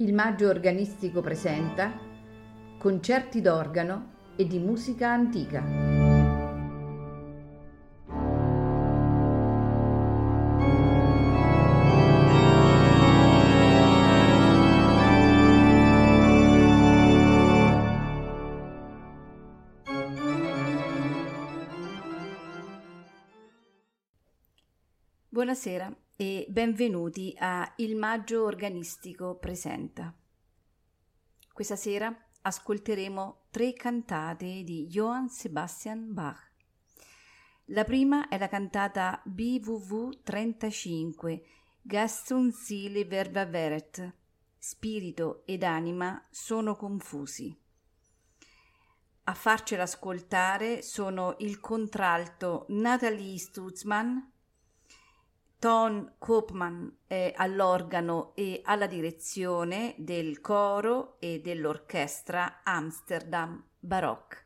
Il Maggio Organistico presenta concerti d'organo e di musica antica. Buonasera e benvenuti a Il Maggio Organistico presenta. Questa sera ascolteremo 3 cantate di Johann Sebastian Bach. La prima è la cantata BWV 35, Geist und Seele verwirrt, spirito ed anima sono confusi. A farcela ascoltare sono il contralto Nathalie Stutzmann, Ton Koopman all'organo e alla direzione del coro e dell'orchestra Amsterdam Baroque.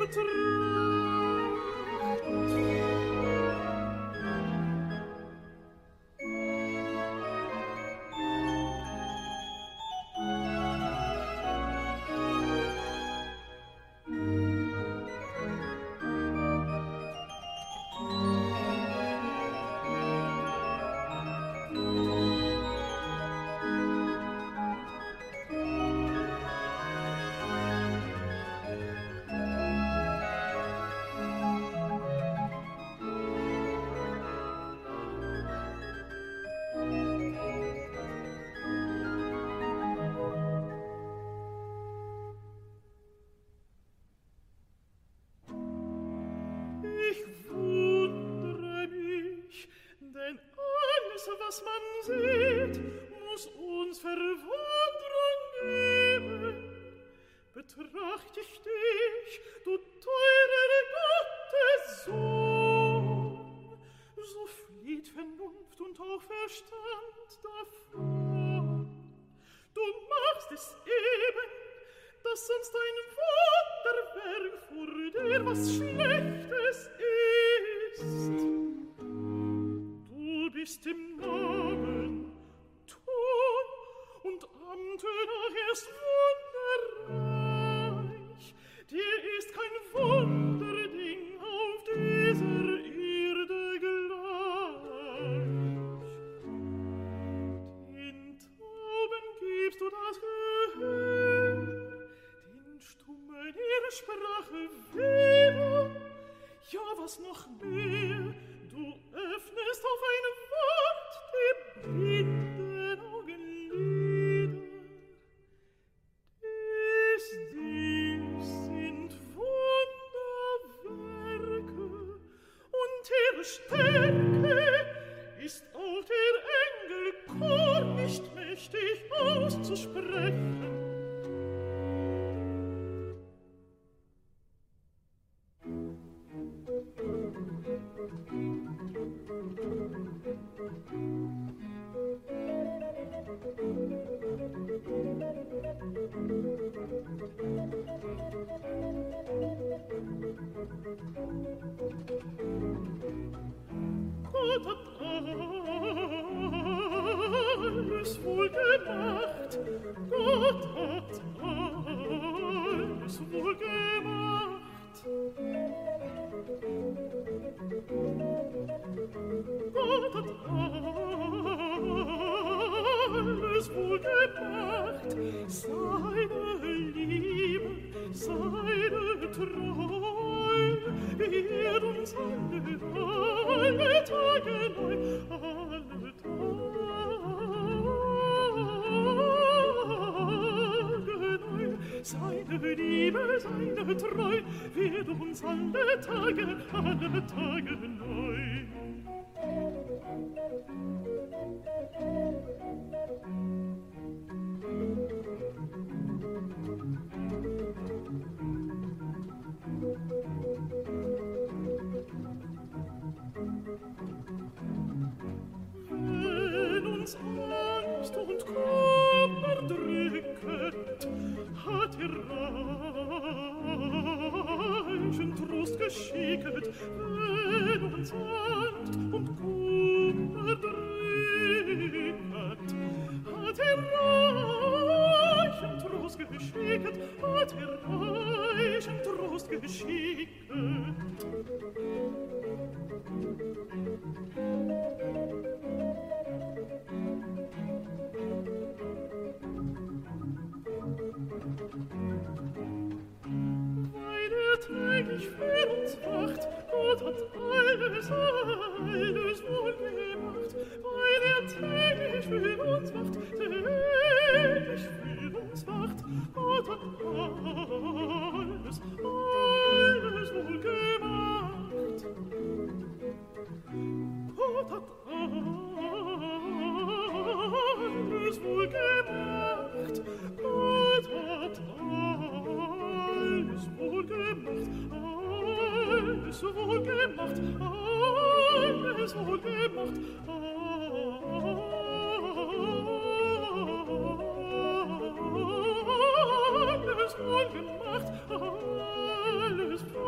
Alles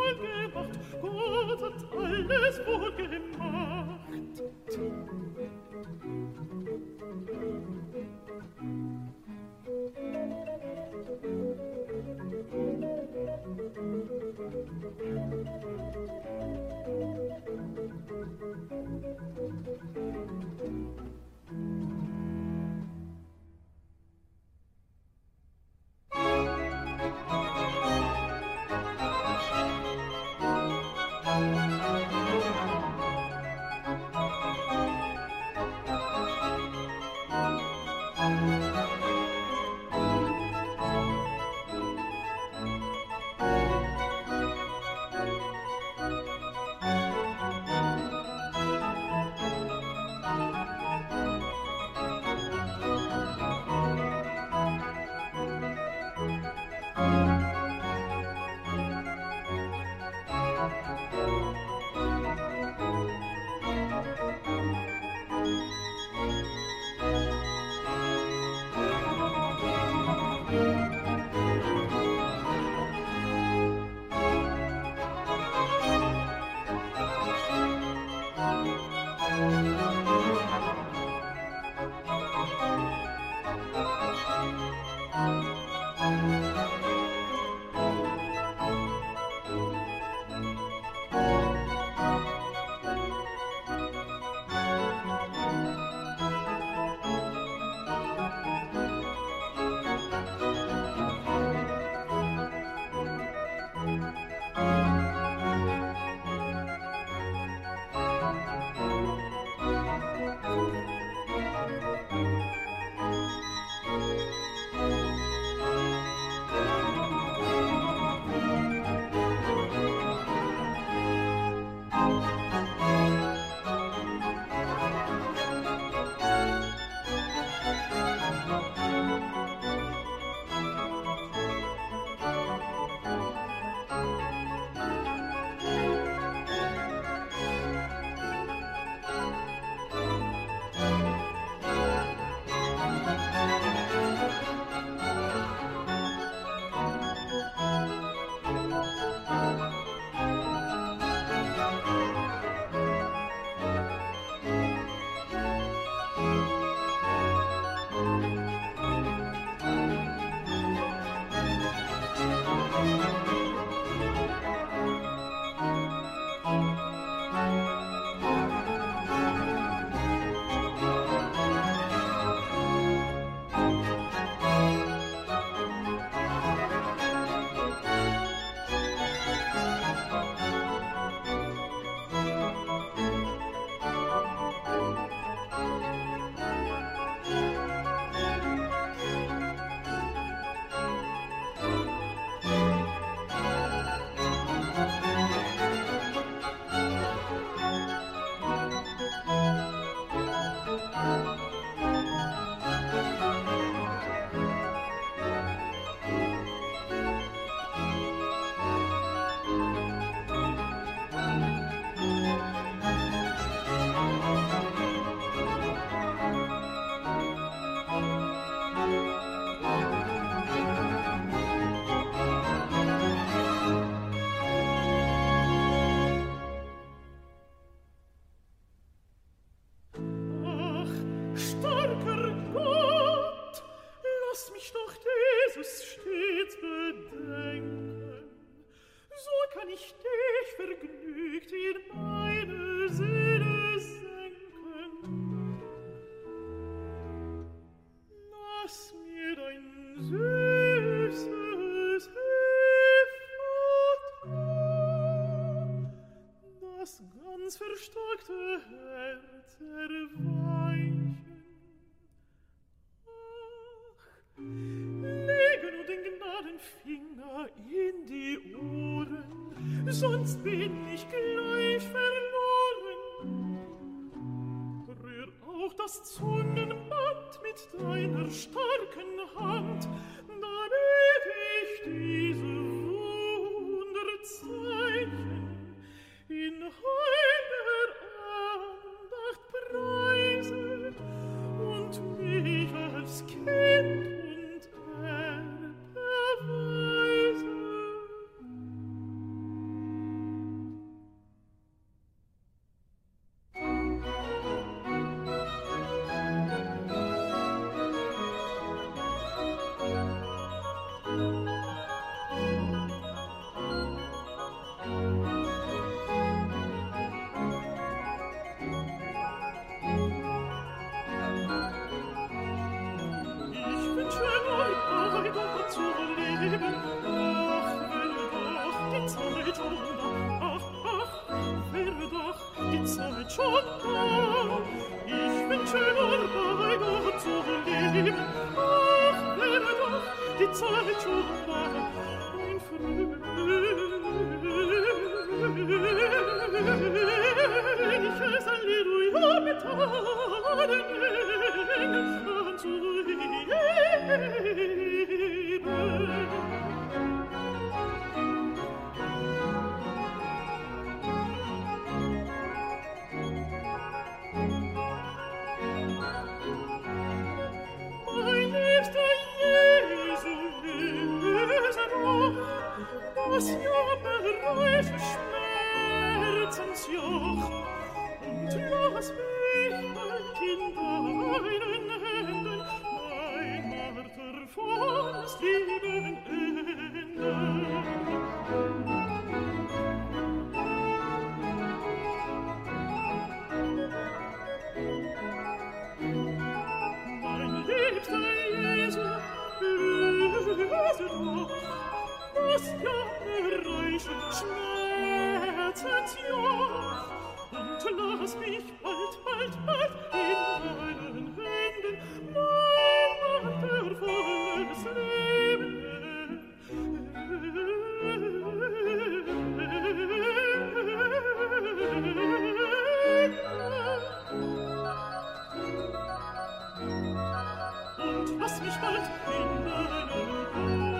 sonst bin ich gleich verloren. Rühr auch das Zungenband mit deiner starken Hand, damit ich diese Wunderzeichen in heiliger Andacht preise und mich als Kind und Erbe erweise. schon da. Ich wünsche nur bei Gott zu leben. Ach, wäre doch die Zeit schon da. Ein fröhliches Alleluia mit allen Engeln anzuheben. Das jammerreiche Schmerzensjoch, und lass mich bald in deinen Händen mein martervolles Leben enden. Mein liebster Jesu, löse doch das jammerreiche Schmerzensjoch, und lass mich bald in deinen Händen mein martervolles Leben und lass mich bald in deinen Händen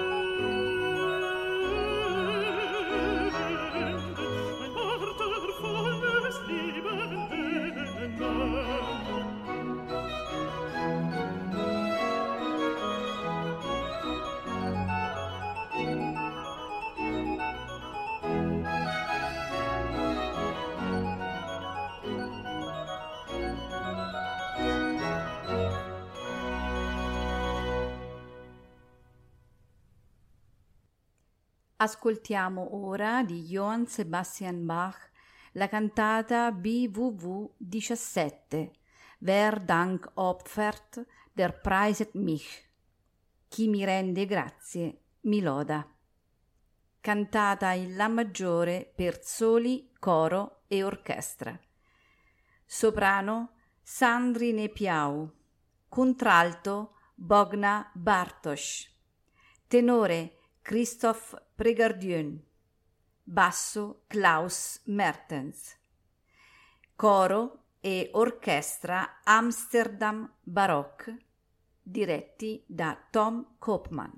Ascoltiamo ora di Johann Sebastian Bach la cantata BWV 17, Wer Dank opfert, der preiset mich. Chi mi rende grazie, mi loda. Cantata in La maggiore per soli, coro e orchestra. Soprano Sandrine Piau. Contralto Bogna Bartosz. Tenore Christoph Pregardieu. Basso Klaus Mertens. Coro e orchestra Amsterdam Baroque, diretti da Tom Koopman.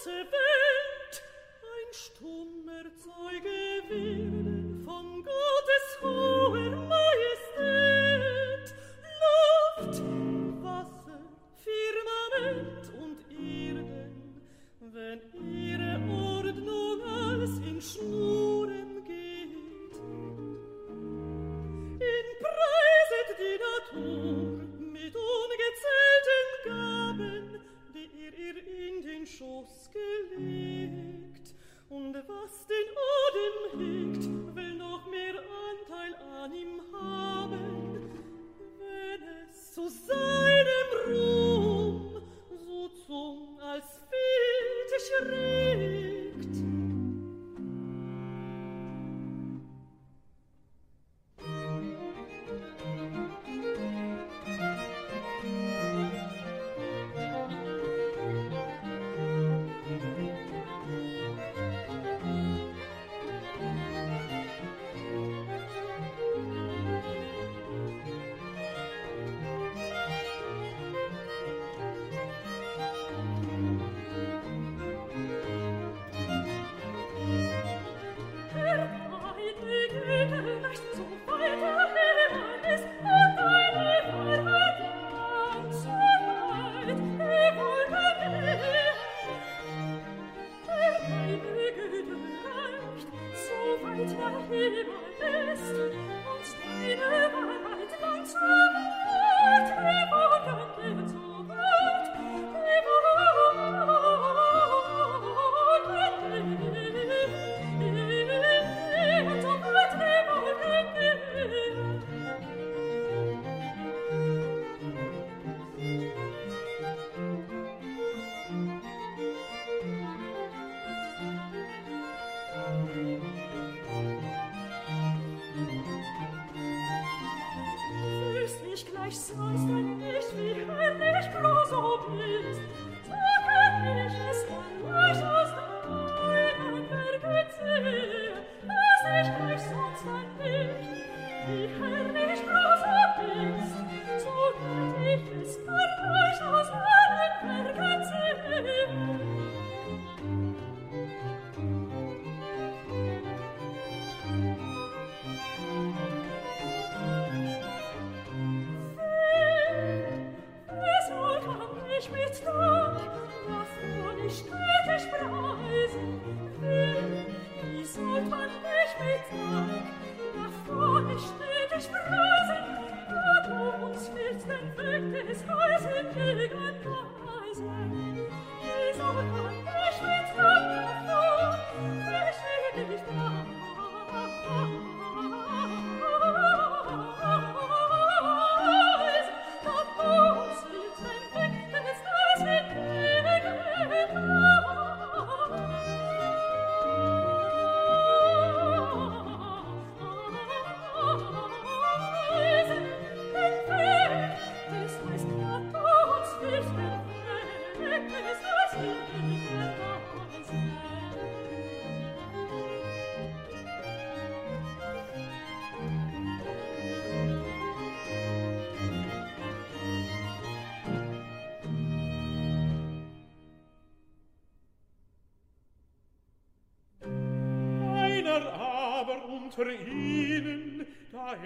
unter ihnen, da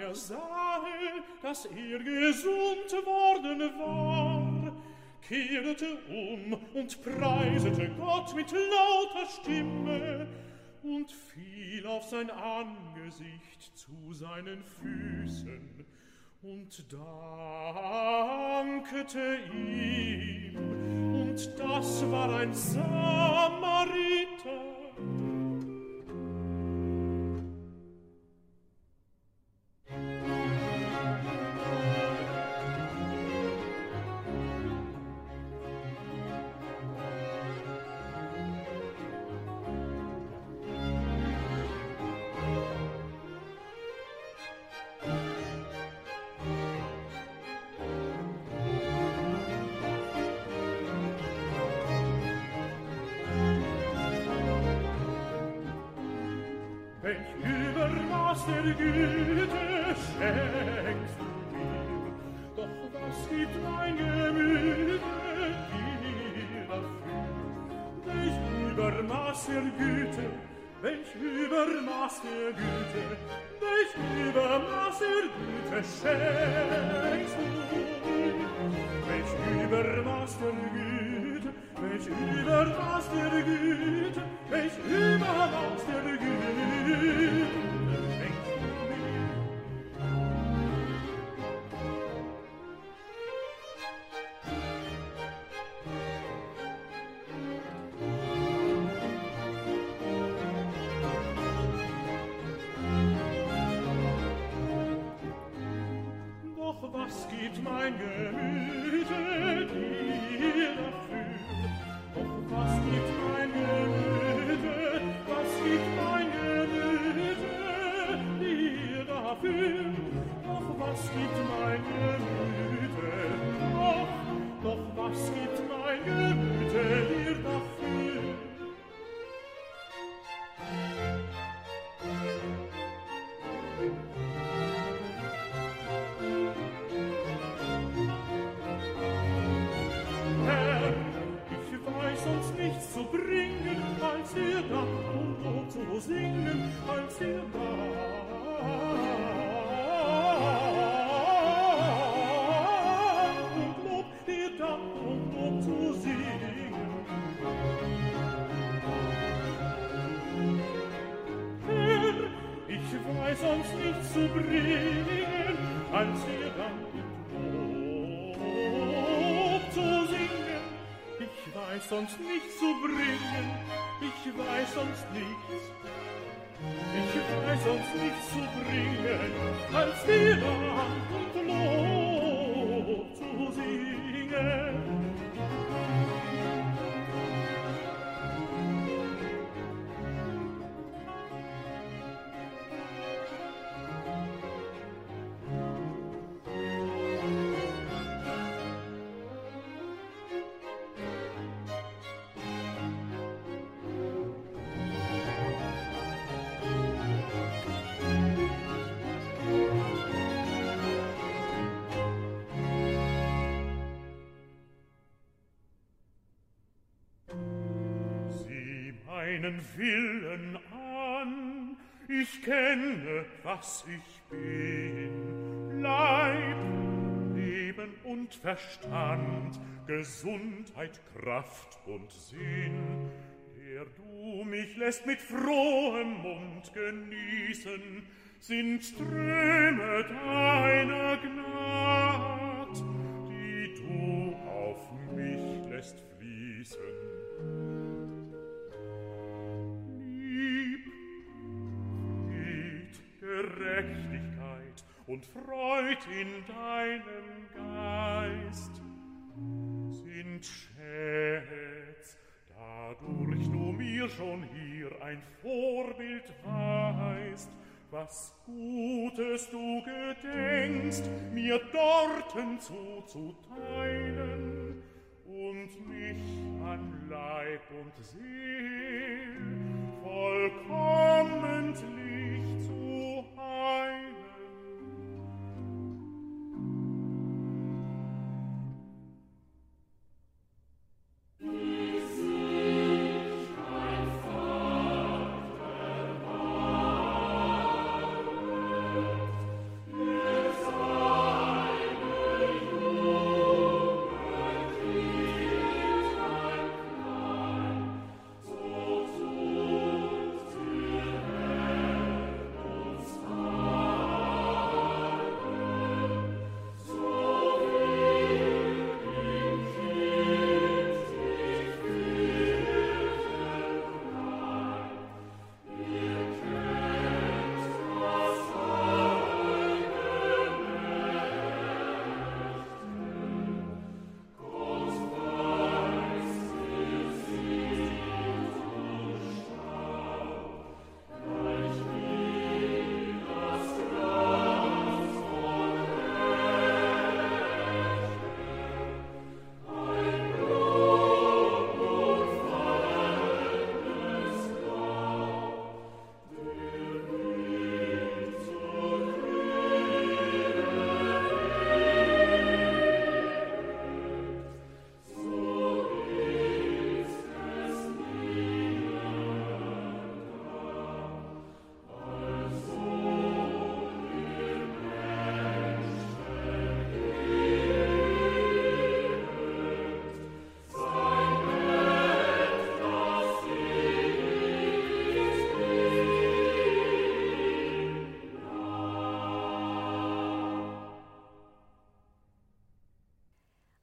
sahe, dass gesund worden war, kehrte und preisete Gott mit lauter Stimme und fiel auf sein Angesicht zu seinen Füßen und dankete ihm. Und das war ein Samariter. Welch Übermaß der Güte schenkst du mir, doch was gibt mein Gemüte dir dafür? Welch Übermaß der Güte, welch Übermaß der Güte, welch Übermaß der Güte schenkst du mir. Welch Übermaß der Güte, welch Übermaß der Güte, welch Übermaß der Güte schenkst du mir. Was gibt mein Gemüte dir dafür? Doch was gibt mein Gemüte, was gibt mein Gemüte dir dafür? Doch was gibt mein Gemüte, doch was gibt mein Gemüte dir dafür? Nichts zu bringen, als dir Dank und Lob zu singen, als dir Dank und Lob, dir Dank und Lob zu singen. Herr, ich weiß sonst nichts zu bringen, als dir Dank und Lob zu singen. Ich weiß sonst nichts zu bringen, ich weiß sonst nichts. Ich weiß sonst nichts zu bringen, als dir Dank und Lob zu singen. Meinen Willen an, ich kenne, was ich bin, Leib, Leben und Verstand, Gesundheit, Kraft und Sinn, der du mich lässt mit frohem Mund genießen, sind Ströme deiner Gnad, die du auf mich lässt fließen. Gerechtigkeit und Freud in deinem Geist sind Schätz, dadurch du mir schon hier ein Vorbild weist, was Gutes du gedenkst, mir dorten zuzuteilen und mich an Leib und Seel vollkommentlich zu heilen. So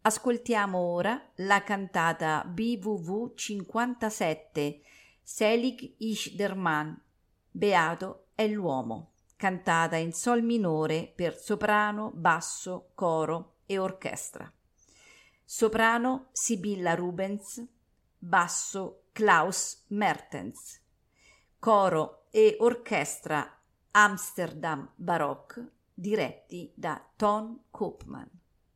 Ascoltiamo ora la cantata BWV 57, Selig ist der Mann, Beato è l'uomo, cantata in sol minore per soprano, basso, coro e orchestra. Soprano Sibilla Rubens, basso Klaus Mertens, coro e orchestra Amsterdam Baroque, diretti da Ton Koopman.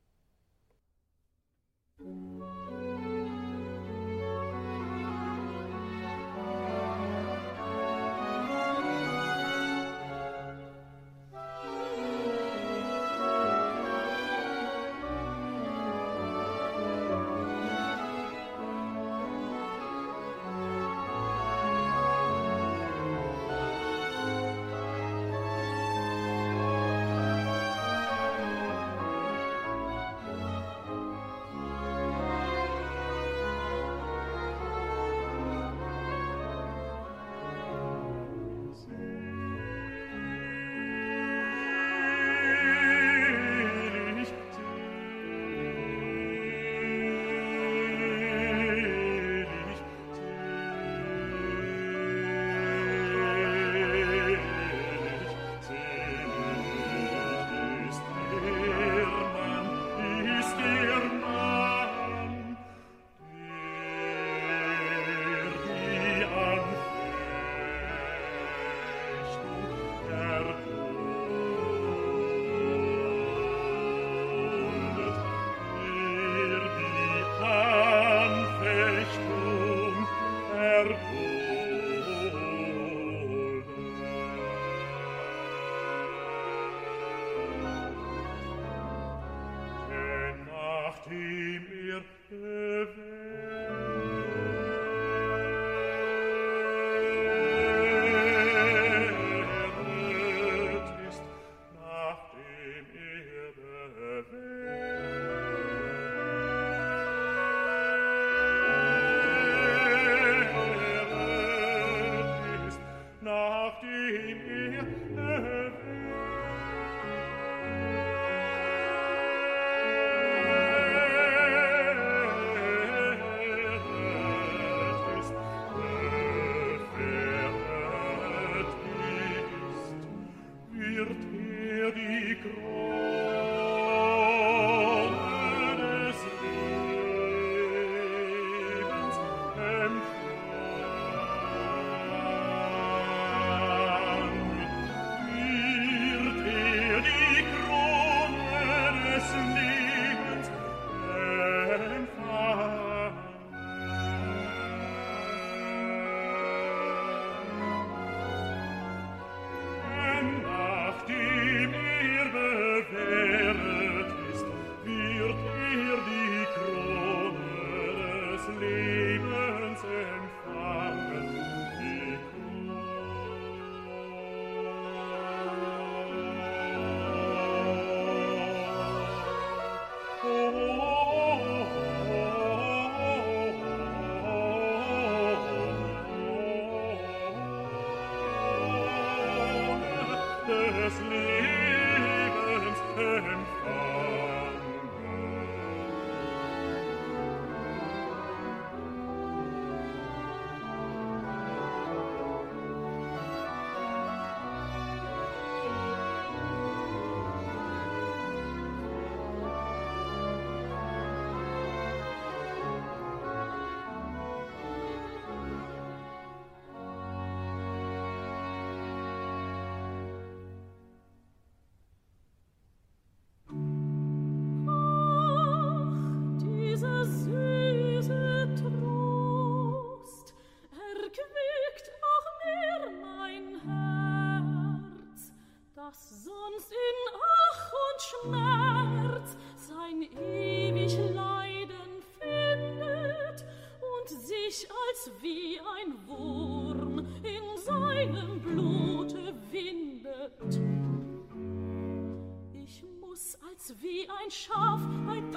Wie ein Schaf bei 1000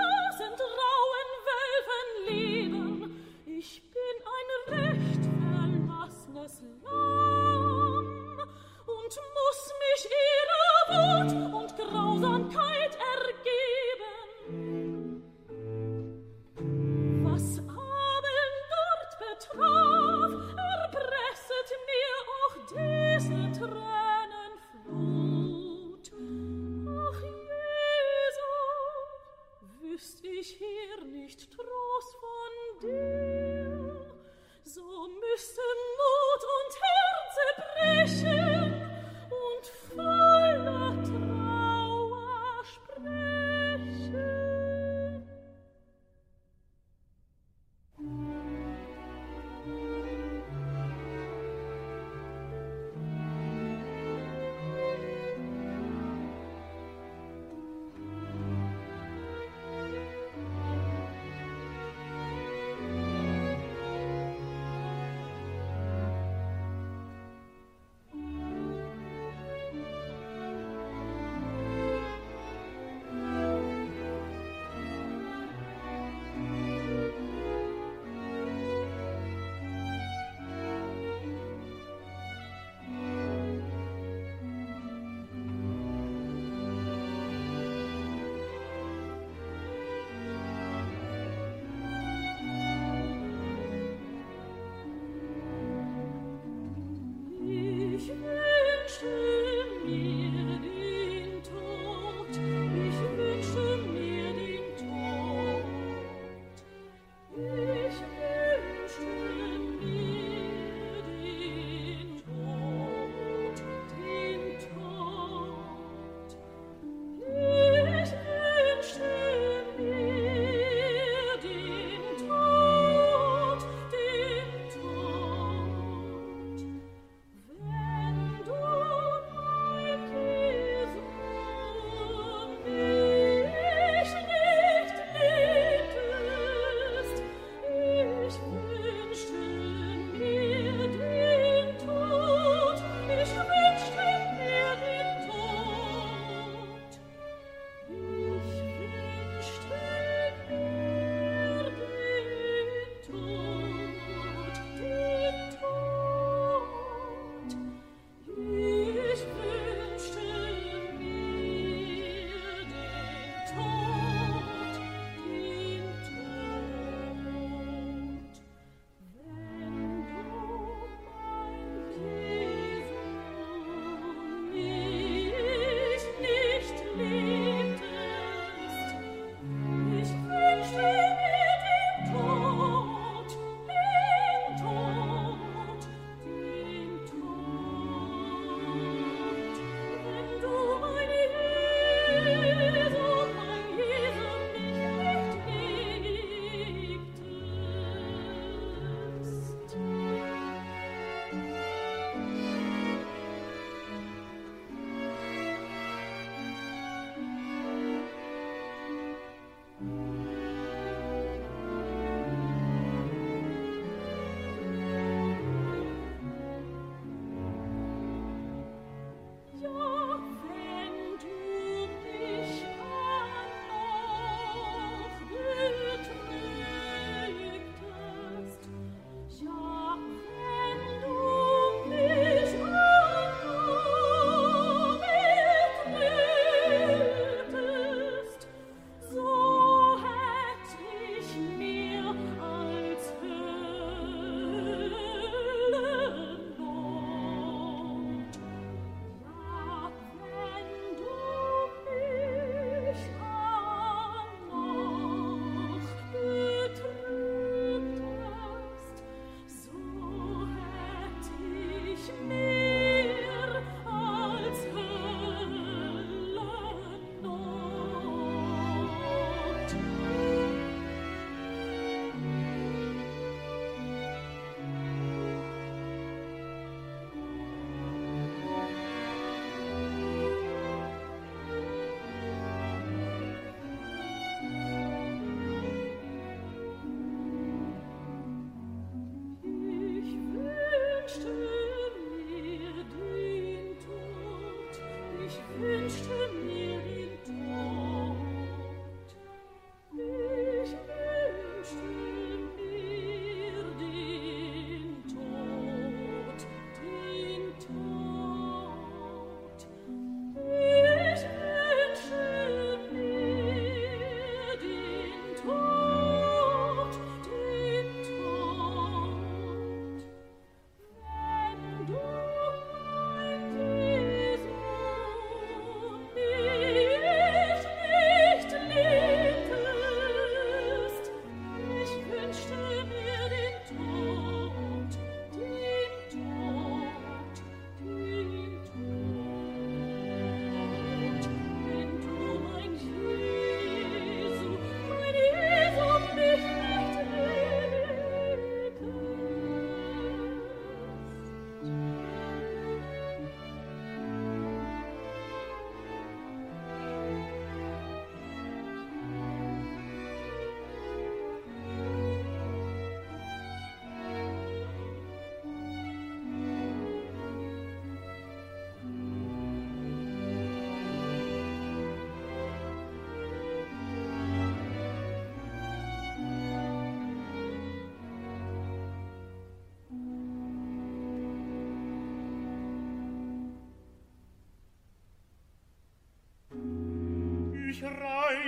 rauen Wölfen leben. Ich bin ein recht verlassenes Lamm und muss mich ihrer Wut und Grausamkeit ergeben.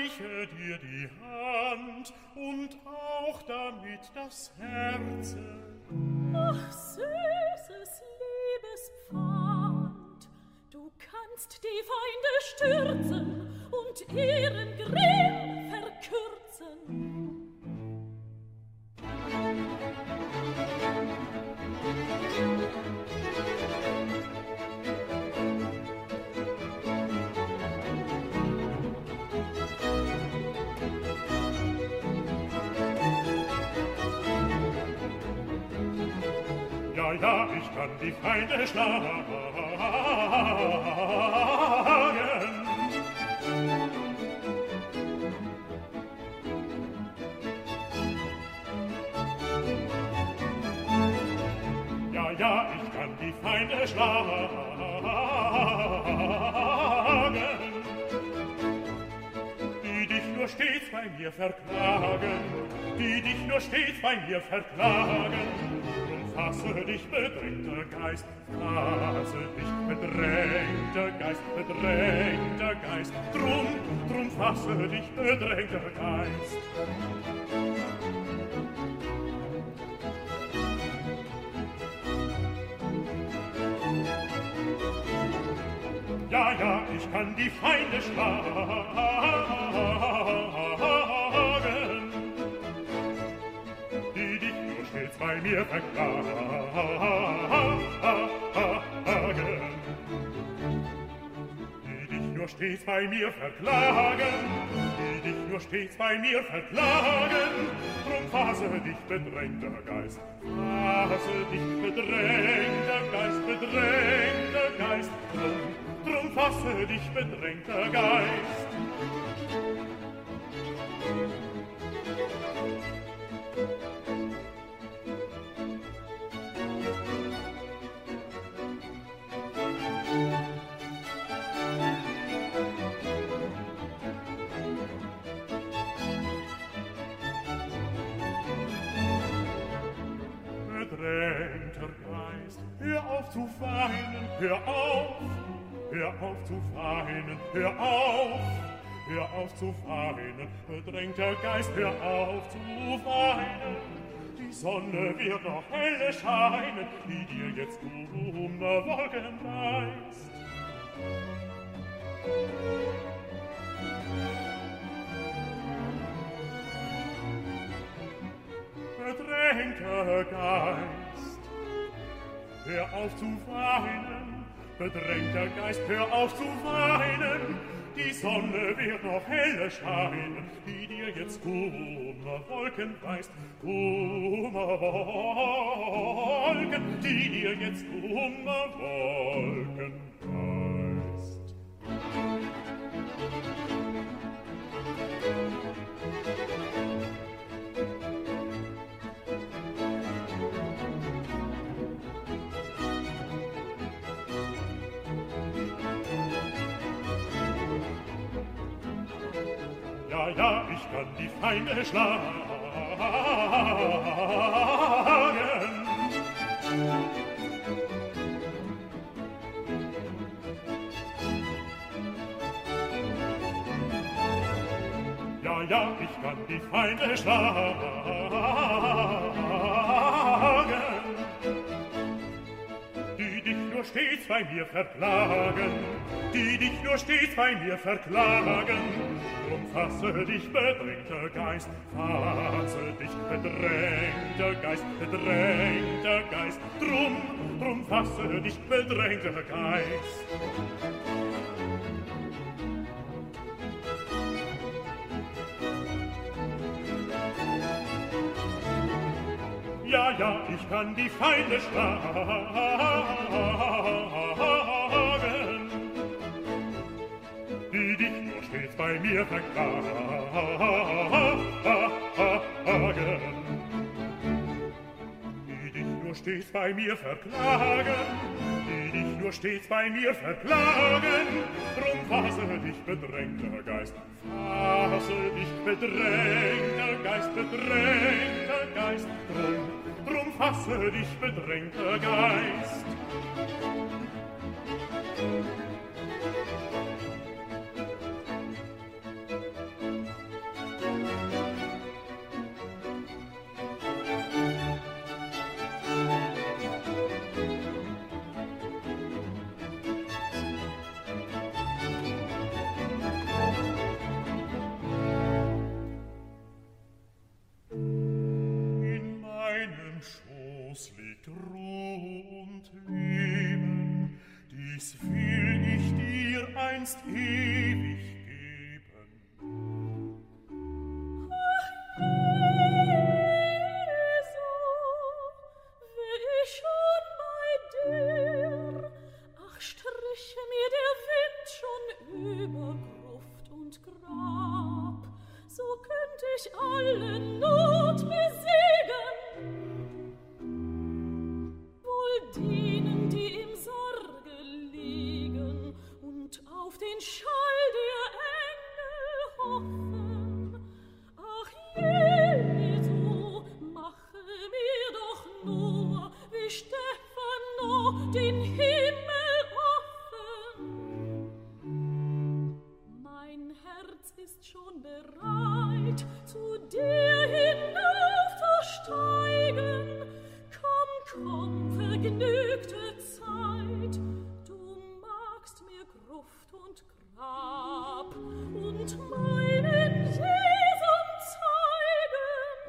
reiche dir die Hand und auch damit das Herz. Ach, süßes Liebespfand, du kannst die Feinde stürzen und ihren Grimm verkürzen. Ja, ich kann die Feinde schlagen. Ja, ich kann die Feinde schlagen. Die dich nur stets bei mir verklagen, die dich nur stets bei mir verklagen. Fasse dich, bedrängter Geist, fasse dich, bedrängter Geist, bedrängter Geist. Drum fasse dich, bedrängter Geist. Ja, ich kann die Feinde schlagen, die dich nur stets bei mir verklagen. Die dich nur stets bei mir verklagen, die dich nur stets bei mir verklagen. Drum fasse dich, bedrängter Geist, fasse dich, bedrängter Geist, bedrängter Geist. Drum fasse dich, bedrängter Geist. Bedrängter Geist, hör auf zu weinen, hör auf zu weinen, hör auf zu weinen, bedrängter Geist, hör auf zu weinen. Die Sonne wird noch helle scheinen, die dir jetzt dummer Wolken weist. Bedrängter Geist, hör auf zu weinen, bedrängter Geist, hör auf zu weinen. Die Sonne wird noch helle scheinen, die dir jetzt Kummerwolken weist. Kummerwolken, die dir jetzt Kummerwolken weist. Ja, ich kann die Feinde schlagen, ja, ich kann die Feinde schlagen, die dich nur stets bei mir verklagen, die dich nur stets bei mir verklagen. Drum fasse dich, bedrängter Geist, fasse dich, bedrängter Geist, bedrängter Geist. Drum fasse dich, bedrängter Geist. Ja, ich kann die Feinde schlagen, die dich nur stets bei mir verklagen. Die dich nur stets bei mir verklagen, die dich nur stets bei mir verklagen. Drum fasse dich, bedrängter Geist, fasse dich, bedrängter Geist, bedrängter Geist. Drum fasse dich, bedrängter Geist. Schoß liegt Ruh und Leben, dies will ich dir einst ewig geben. Ach, Jesu, wär ich schon bei dir. Ach, striche mir der Wind schon über Gruft und Grab, so könnt ich alle Not besiegen. Wohl denen, die im Sorge liegen und auf den Schall der Engel hoffen. Ach, Jesu, mache mir doch nur, wie Stefano, den Himmel offen. Mein Herz ist schon bereit, zu dir hinaufzusteigen. Komm, komm, vergnügte Zeit, du magst mir Gruft und Grab und meinen Jesum zeigen.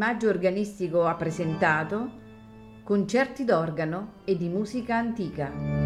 Maggio Organistico ha presentato Concerti d'organo e di musica antica.